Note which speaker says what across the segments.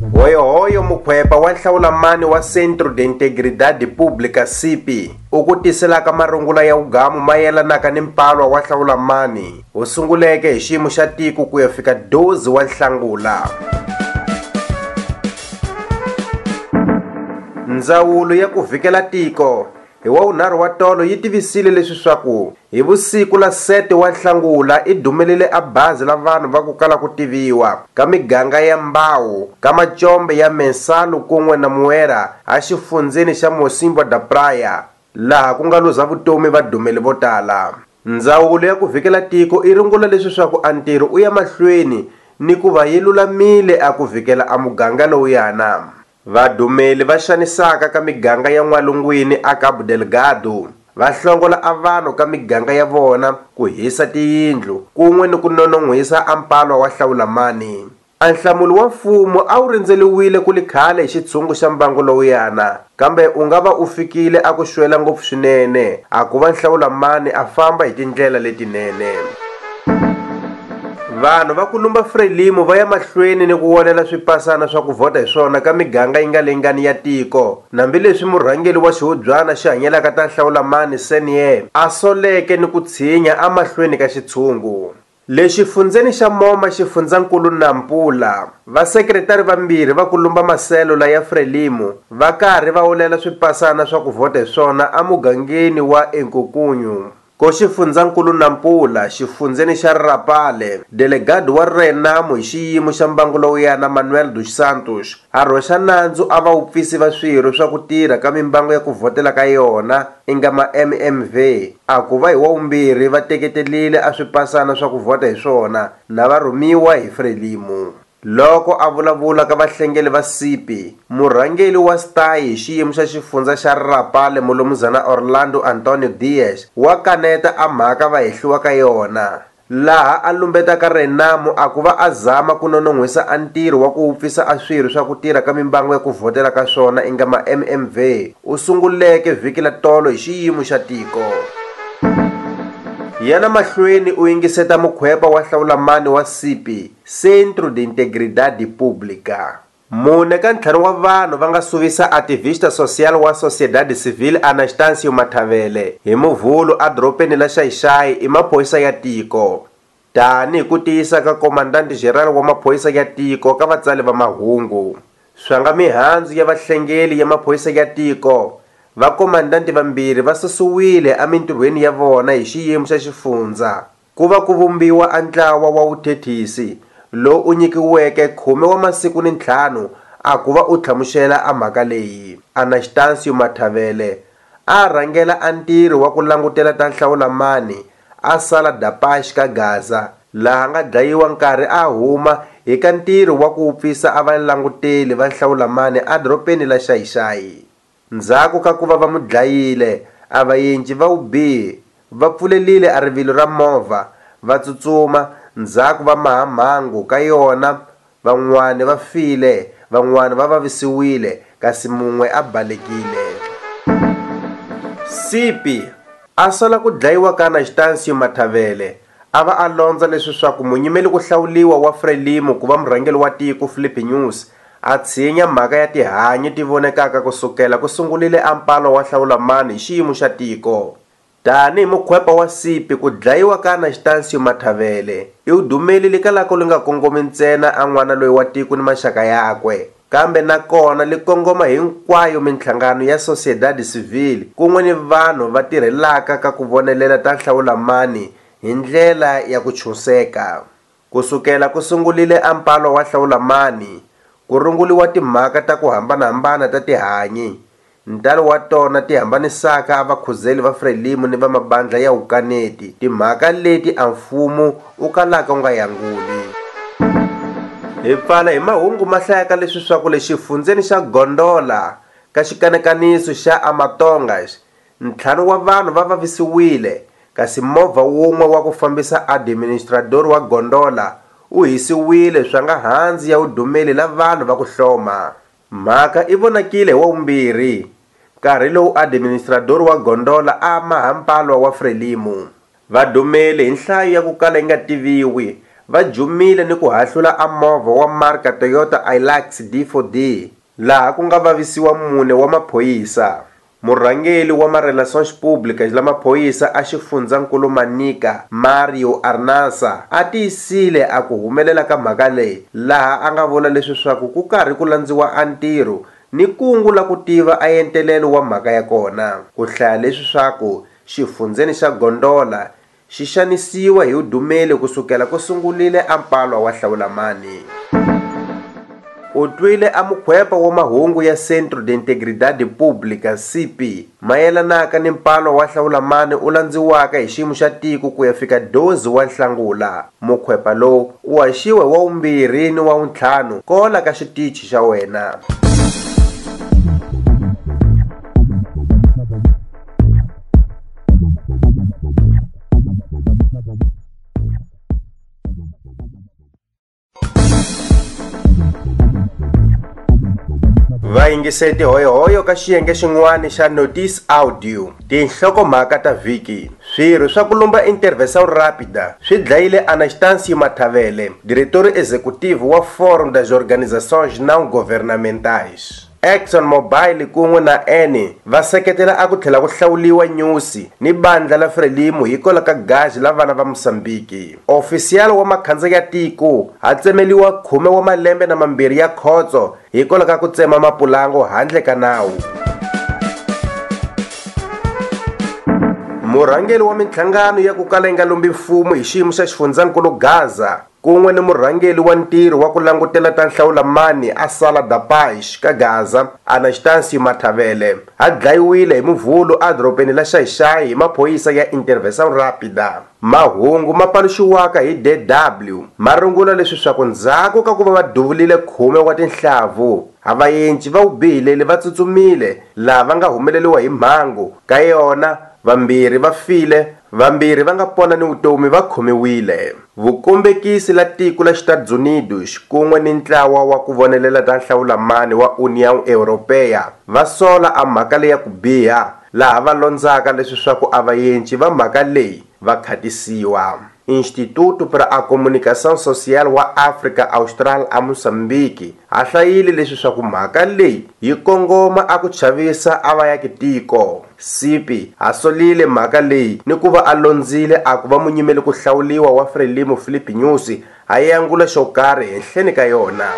Speaker 1: Hoyo mukhwepa wa nhlawulamani wa Centro de Integridade Pública CIPI u ku tiselaka marungula ya ugamu mayelanaka ni mpalwa wa nhlawulamani wu sunguleke hi xiyimo xa tiko ku ya fika 12 wa Nhlangula. Ndzawulo ya ku vhikela tiko hi wavunharhu wa tolo yi tivisile leswi swaku hi vusiku la 7 wa Nhlangula i dumelele a bazi la vanhu va ku kala ku tiviwa ka miganga ya Mbawu ka Macombe ya Mensalu kun'we na Muera a xifundzeni xa Mocimboa da Praia laha ku nga luza vutomi va dumeli vo tala. Ndzawulo ya ku vhikela tiko i rungula leswi swaku a ntirho u ya mahlweni ni ku va yi lulamile a ku vhikela a muganga lowuyana. Vadumeli va xanisaka ka miganga ya N'walungwini a Cabo Delgado va hlongola a vanhu ka miganga ya vona ku hisa tiyindlu kun'we ni ku nonon'hwisa a mpalwa wa nhlawulamani. A nhlamulo wa mfumo a wu rindzeliwile ku li khale hi xitshungu xa mbangu lowuyana, kambe u nga va u fikile a ku xwela ngopfu swinene a ku va nhlawulamani a famba hi tindlela letinene. Vanhu va ku lumba Frelimo va ya mahlweni ni ku vonela swipasana swa ku vhota hi swona ka miganga yi nga lengani ya tiko, nambileswi murhangeli wa xihubyana xi hanyelaka ta nhlawulamani Senior a soleke ni ku tshinya a mahlweni ka xitshungu. Le xifundzeni xa Moma xifundzankulu Nampula, vasekretari vambirhi va ku lumba maselula ya Frelimo va karhi va wulela swipasana swa ku vhota hi swona a mugangeni wa Enkukunyu. Ko xifundzankulu Nampula xifundzeni xa Rapale, delegado wa Renamo hi xiyimo xa mbangu lowuyana Manuel dos Santos a rhoxa nandzu a va upfisi va swirho swa ku tirha ka mimbangu ya ku vhotela ka yona inga ma-MMV a ku va hi wavumbirhi va teketelile a swipasana swa ku vhota hi swona na va rhumiwa hi Frelimo. Loko a vulavula ka vahlengeli va CIPI, murhangeli wa STAI hi xiyimo xa xifundza xa Rapale Mulumuzana Orlando Antonio Dias wa kaneta a mhaka va hehliwa ka yona, laha a lumbetaka Renamo a ku va a zama ku nonon'hwisa a ntirho wa ku upfisa a swirho swa ku tirha ka mimbangu ya ku vhotela ka swona inga ma-MMV u sunguleke vhiki la tolo hi xiyimo xa tiko. Yana mahlweni u yingiseta mukhwepa wa nhlawulamani wa CIPI, Centro de Integridade Pública. Mune ka ntlhanu wa vanhu va nga suvisa activista social wa Sociedade Civil Anastácio Matavele hi Muvhulu a doropeni la Xai-Xai i maphorisa ya tiko. Tani hi ku tiyisa ka Komandante General wa maphorisa ya tiko ka vatsali va mahungu. Swanga mihandzu ya vahlengeli ya maphorisa ya tiko, vakomandanti vambirhi va susiwile emintirhweni ya vona hi xiyimo xa xifundza. Ku va ku vumbiwa a ntlawa wa vuthethisi lowu u nyikiweke 10 wa masiku ni 5 a ku va u tlhamuxela a mhaka leyi. Anastácio Matavele a rhangela a ntirho wa ku langutela ta nhlawulamani a Sala da Paz ka Gaza, laha nga dlayiwa nkarhi a huma hi ka ntirho wa ku upfisa a valanguteli va nhlawulamani a doropeni la Xai-Xai. Ndzhaku ka ku va va mu dlayile, a vaendli va vubihi va pfulelile a rivilo ra movha va tsutsuma ndzhaku va maha mhangu ka yona. Van'wana va file, van'wana va vavisiwile, kasi mun'we a balekile. CIPI a sola ku dlayiwa ka Anastácio Matavele a va a londza leswi swaku munyimeli ku hlawuliwa wa Frelimo ku va murhangeli wa tiko Filipe Nyusi a tshinya mhaka ya tihanyi ti vonekaka kusukela ku sungulile a mpalo wa nhlawulamani hi xiyimo xa tiko. Tani hi mukhwepa wa CIPI ku dlayiwa ka Anastácio Matavele i udumeli li kalaka li nga kongomi ntsena a n'wana loyi wa tiko ni maxaka yakwe, kambe nakona li kongoma hinkwayo minhlangano ya Sociedade Civil kun'we ni vanhu va tirhelaka ka ku vonelela ta nhlawulamani hi ndlela ya ku chuseka. Kusukela ku sungulile a mpalo wa nhlawulamani ku runguliwa timhaka ta ku hambanahambana ta tihanyi, ntalo wa tona ti hambanisaka vakhuzeli va Frelimo ni va mabandla ya hukaneti, timhaka leti a mfumo u kalaka u nga yanguli. Hi pfala hi mahungu ma hlayaka leswi swaku le xifundzeni xa Gondola ka xikanekaniso xa Amatongas, 5 wa vanhu va vavisiwile, kasi movha wun'we wa ku fambisa administrador wa Gondola u hisiwile swa nga handzi ya udumeli la vanhu va ku hloma. Mhaka i vonakile hi wavumbirhi nkarhi lowu administrador wa Gondola a maha mpalwa wa Frelimo. Vadumeli hi nhlayo ya ku kala yi nga tiviwi va jumile ni ku hahlula a movha wa marka Toyota Hilux D4D laha ku nga vavisiwa 4 wa maphoyisa. Murhangeli wa ma-relations públicas la maphoyisa a xifundzankulu Manika Mario Arnasa a tiyisile a ku humelela ka mhaka leyi laha a nga vula leswi swaku ku karhi ku landziwa a ntirho ni kungu la ku tiva a entelelo wa mhaka ya kona. Ku hlaya leswi swaku xifundzeni xa Gondola xi xanisiwa hi udumeli kusukela ku sungulile a mpalwa wa Hlawulamani. U twile a mukhwepa wa mahungu ya Centro de Integridade Pública CP mayelanaka ni mpalwa wa Hlawulamani u landziwaka hi xiyimo xa tiko ku ya fika 12 wa Nhlangula. Mukhwepa lowu u haxiwe wa 2 ni wa 5 kola ka xitichi xa wena. Vayingiseti hoyohoyo ka xiyenge xin'wana xa Notice Audio. Tinhlokomhaka ta vhiki. Swirho swa ku lomba intervenção rápida swi dlayile Anastâncio Matavele, diretor executivo wa Fórum das Organizações Não Governamentais. Exxon Mobil kun'we na Eni va seketela a ku tlhela ku hlawuliwa nyusi ni bandla la Frelimo hikola ka gazi la vana va Mosambiki. Official wa makhandziya ya tiko a tsemeliwa 10 wa malembe na mambirhi ya khotso hikola ka ku tsema mapulango handle ka nawu. Murhangeli wa minhlangano ya ku kala yi nga lombi mfumo hi xiyimo xa xifundzankulu Gaza kun'we ni murhangeli wa ntirho wa ku langutela ta Nhlawulamani a Sala da Paz ka Gaza Anastâncio Matavele a dlayiwile hi Muvhulu a dorobeni la Xai-Xai hi maphoyisa ya Intervenção Rápida. Mahungu ma paluxiwaka hi DW ma rungula leswi swaku ndzhaku ka ku va duvulile 10 wa tinhlavu avayenci va ubihileli va tsutsumile lava nga humeleliwa hi mhangu ka yona. Vambirhi va file, vambirhi va nga pona ni vutomi va khomiwile. Vukombekisi la tiko la Estados Unidos kun'we ni ntlawa wa ku vonelela ta Nhlawulamani wa União Europeia va sola a mhaka leyi ya ku biha laha va londzaka leswi swaku avayenci va mhaka leyi va khatisiwa. Instituto para a Comunicação Social wa África Austral a Moçambique a hlayile leswi swaku mhaka leyi yi kongoma a ku chavisa a vaakitiko. Sipi a solile mhaka leyi ni ku va a londzile a ku va munyimeli ku hlawuliwa wa Frelimo Philip Nyusi a yangula xo karhi henhleni ka yona.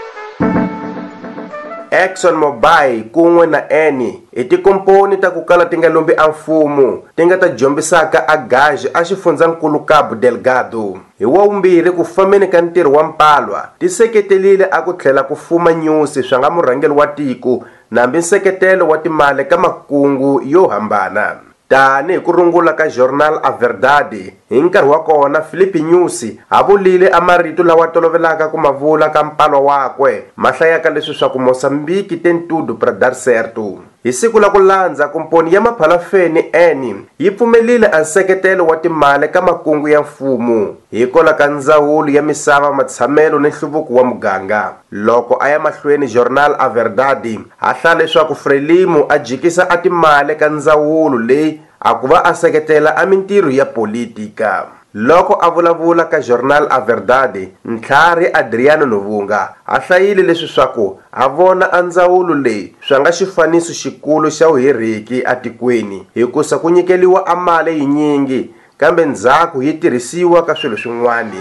Speaker 1: Exxon Mobil kun'we na Eni i tikomponi ta ku kala ti nga lombi a mfumo ti nga ta jombisaka a gazi a xifundzankulu Cabo Delgado. Hi wavumbirhi ku fambeni ka ntirho wa mpalwa ti seketelile a ku tlhela ku fuma nyusi swa nga murhangeli wa tiko nambi nseketelo wa timali ka makungu yo hambana. Tani hi ku rungula ka Jornal A Verdade hi nkarhi wa kona Philip Nyusi a vulile a marito lawa tolovelaka ku mavula ka mpalwa wakwe mahlayaka leswi swa ku Moçambique tem tudo para dar certo. Hi siku la ku landza komponi ya maphalafeni Eni yi pfumelile a nseketelo wa timali ka makungu ya mfumo hikola ka ndzawulo ya misava matshamelo ni nhluvuko wa muganga. Loko a ya mahlweni Jornal A Verdade a hlaya leswaku Frelimo a jikisa a timali ka ndzawulo leyi a ku va a seketela a mintirho ya politika. Loko a vulavula ka Jornal A Verdade, Ntlhari Adriano Novunga a hlayile leswi swaku a vona a ndzawulo leyi swa nga xifaniso xikulu xa vuheriki a tikweni hikusa ku nyikeliwa a mali yinyingi kambe ndzhaku yi tirhisiwa ka swilo swin'wana.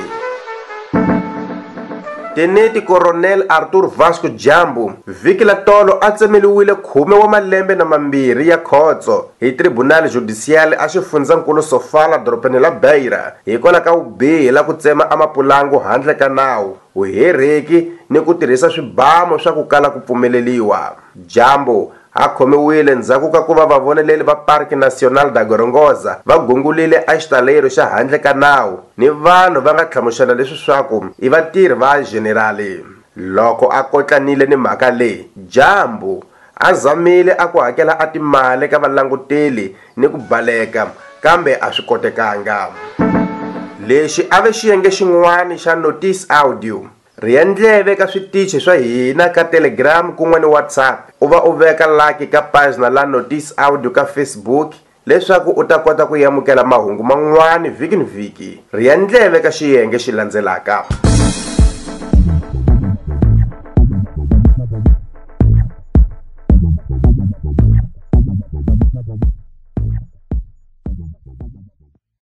Speaker 1: Tenente Coronel Arthur Vasco Jambu vhiki la tolo a tsemeliwile 10 wa malembe na mambirhi ya khotso hi Tribunal Judicial a xifundzankulu Sofala dorobeni la Beira hikola ka vubihi la ku tsema a mapulango handle ka nawu, vuheriki ni ku tirhisa swibamu swa ku kala ku pfumeleliwa. Jambu a khomiwile ndzhaku ka ku va vavoneleli va Parque Nacional da Gorongosa va gungulile a xitalero xa handle ka nawu ni vanhu va nga tlhamuxela leswi swaku i vatirhi va generali. Loko a kotlanile ni mhaka leyi, Jambu a zamile a ku hakela a timali ka valanguteli ni ku baleka kambe a swi kotekanga. Lexi a ve xiyenge xin'wana xa Notice Audio. Riendleve ka switichi swa hina ka Telegram kun'we ni WhatsApp u va u veka like ka pagina la Notice Audio ka Facebook, leswaku u ta kota ku yamukela mahungu man'wani vhiki ni vhiki. Riya ndleve ka xiyenge xi landzelaka.